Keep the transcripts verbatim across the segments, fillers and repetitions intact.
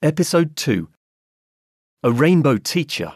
Episode two. A Rainbow Teacher.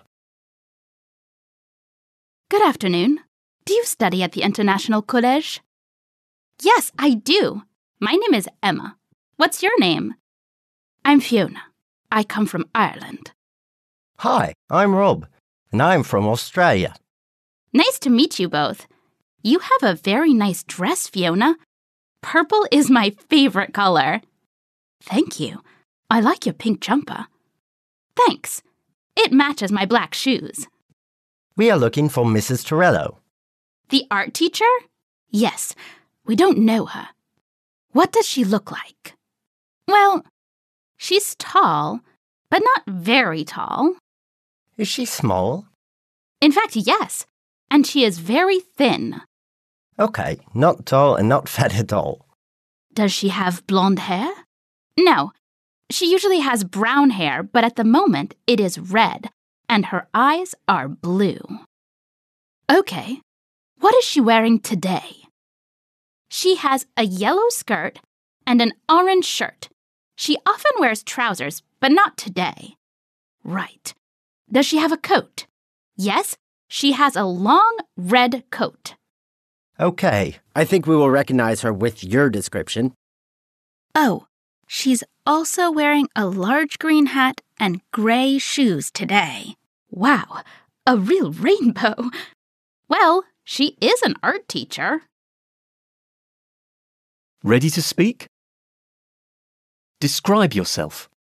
Good afternoon. Do you study at the International College? Yes, I do. My name is Emma. What's your name? I'm Fiona. I come from Ireland. Hi, I'm Rob, and I'm from Australia. Nice to meet you both. You have a very nice dress, Fiona. Purple is my favorite color. Thank you. I like your pink jumper. Thanks. It matches my black shoes. We are looking for Missus Torello. The art teacher? Yes. We don't know her. What does she look like? Well, she's tall, but not very tall. Is she small? In fact, yes. And she is very thin. Okay, not tall and not fat at all. Does she have blonde hair? No. She usually has brown hair, but at the moment it is red, and her eyes are blue. Okay, what is she wearing today? She has a yellow skirt and an orange shirt. She often wears trousers, but not today. Right. Does she have a coat? Yes, she has a long red coat. Okay. I think we will recognize her with your description. Oh, she's also wearing a large green hat and gray shoes today. Wow, a real rainbow. Well, she is an art teacher. Ready to speak? Describe yourself.